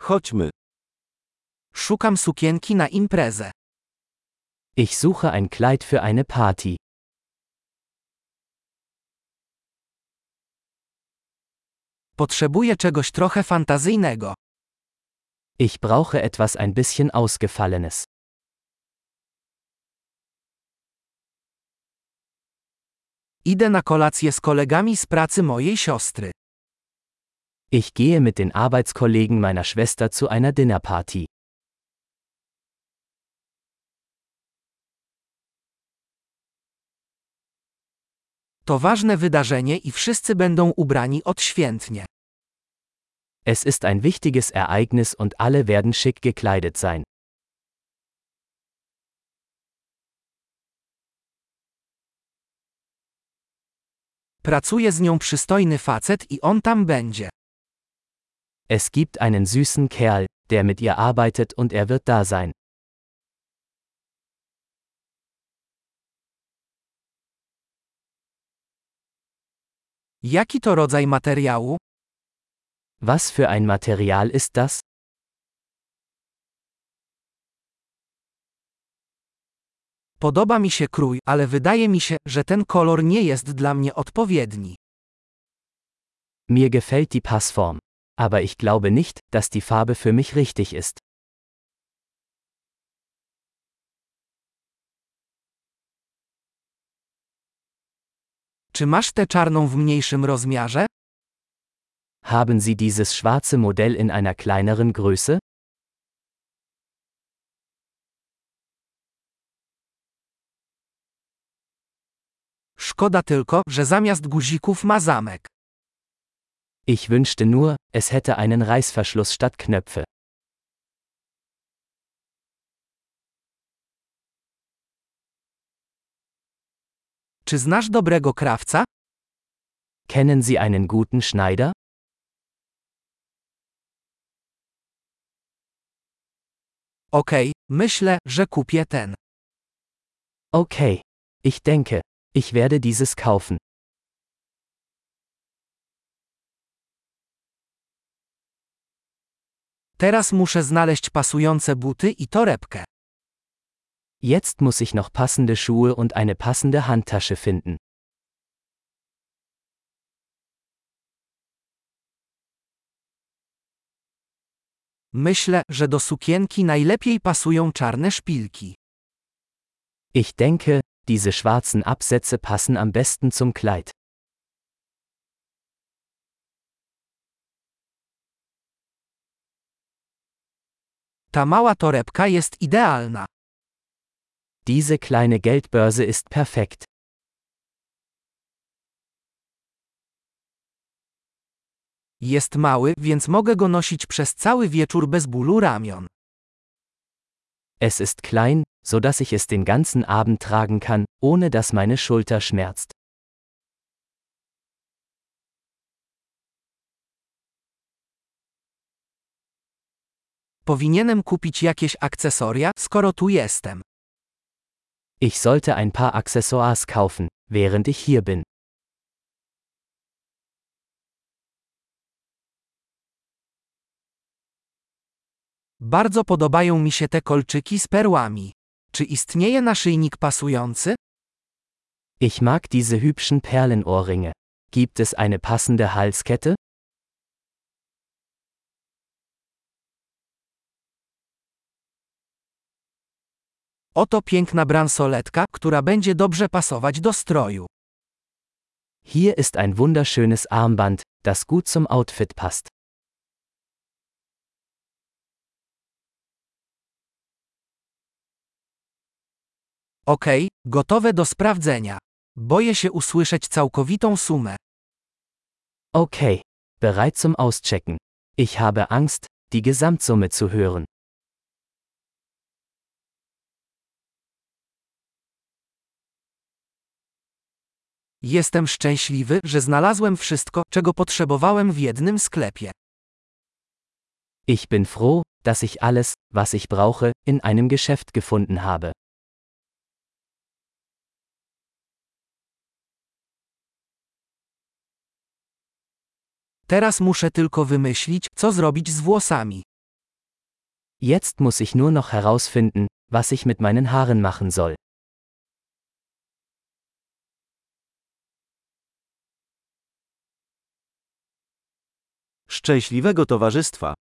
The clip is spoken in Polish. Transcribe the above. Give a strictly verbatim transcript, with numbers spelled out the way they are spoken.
Chodźmy. Szukam sukienki na imprezę. Ich suche ein Kleid für eine Party. Potrzebuję czegoś trochę fantazyjnego. Ich brauche etwas ein bisschen Ausgefallenes. Idę na kolację z kolegami z pracy mojej siostry. Ich gehe mit den Arbeitskollegen meiner Schwester zu einer Dinnerparty. To ważne wydarzenie i wszyscy będą ubrani odświętnie. Es ist ein wichtiges Ereignis und alle werden schick gekleidet sein. Pracuje z nią przystojny facet i on tam będzie. Es gibt einen süßen Kerl, der mit ihr arbeitet und er wird da sein. Jaki to rodzaj materiału? Was für ein Material ist das? Podoba mi się krój, ale wydaje mi się, że ten kolor nie jest dla mnie odpowiedni. Mir gefällt die Passform. Aber ich glaube nicht, dass die Farbe für mich richtig ist. Czy masz tę czarną w mniejszym rozmiarze? Haben Sie dieses schwarze Modell in einer kleineren Größe? Szkoda tylko, że zamiast guzików ma zamek. Ich wünschte nur, es hätte einen Reißverschluss statt Knöpfe. Czy znasz dobrego krawca? Kennen Sie einen guten Schneider? Okej, myślę, że kupię ten. Okay. Ich denke, ich werde dieses kaufen. Teraz muszę znaleźć pasujące buty i torebkę. Jetzt muss ich noch passende Schuhe und eine passende Handtasche finden. Myślę, że do sukienki najlepiej pasują czarne szpilki. Ich denke, diese schwarzen Absätze passen am besten zum Kleid. Ta mała torebka jest idealna. Diese kleine Geldbörse ist perfekt. Jest mały, więc mogę go nosić przez cały wieczór bez bólu ramion. Es ist klein, so dass ich es den ganzen Abend tragen kann, ohne dass meine Schulter schmerzt. Powinienem kupić jakieś akcesoria, skoro tu jestem. Ich sollte ein paar Accessoires kaufen, während ich hier bin. Bardzo podobają mi się te kolczyki z perłami. Czy istnieje naszyjnik pasujący? Ich mag diese hübschen Perlenohrringe. Gibt es eine passende Halskette? Oto piękna bransoletka, która będzie dobrze pasować do stroju. Hier ist ein wunderschönes Armband, das gut zum Outfit passt. Okej, gotowe do sprawdzenia. Boję się usłyszeć całkowitą sumę. Okay, bereit zum Auschecken. Ich habe Angst, die Gesamtsumme zu hören. Jestem szczęśliwy, że znalazłem wszystko, czego potrzebowałem w jednym sklepie. Ich bin froh, dass ich alles, was ich brauche, in einem Geschäft gefunden habe. Teraz muszę tylko wymyślić, co zrobić z włosami. Jetzt muss ich nur noch herausfinden, was ich mit meinen Haaren machen soll. Szczęśliwego towarzystwa.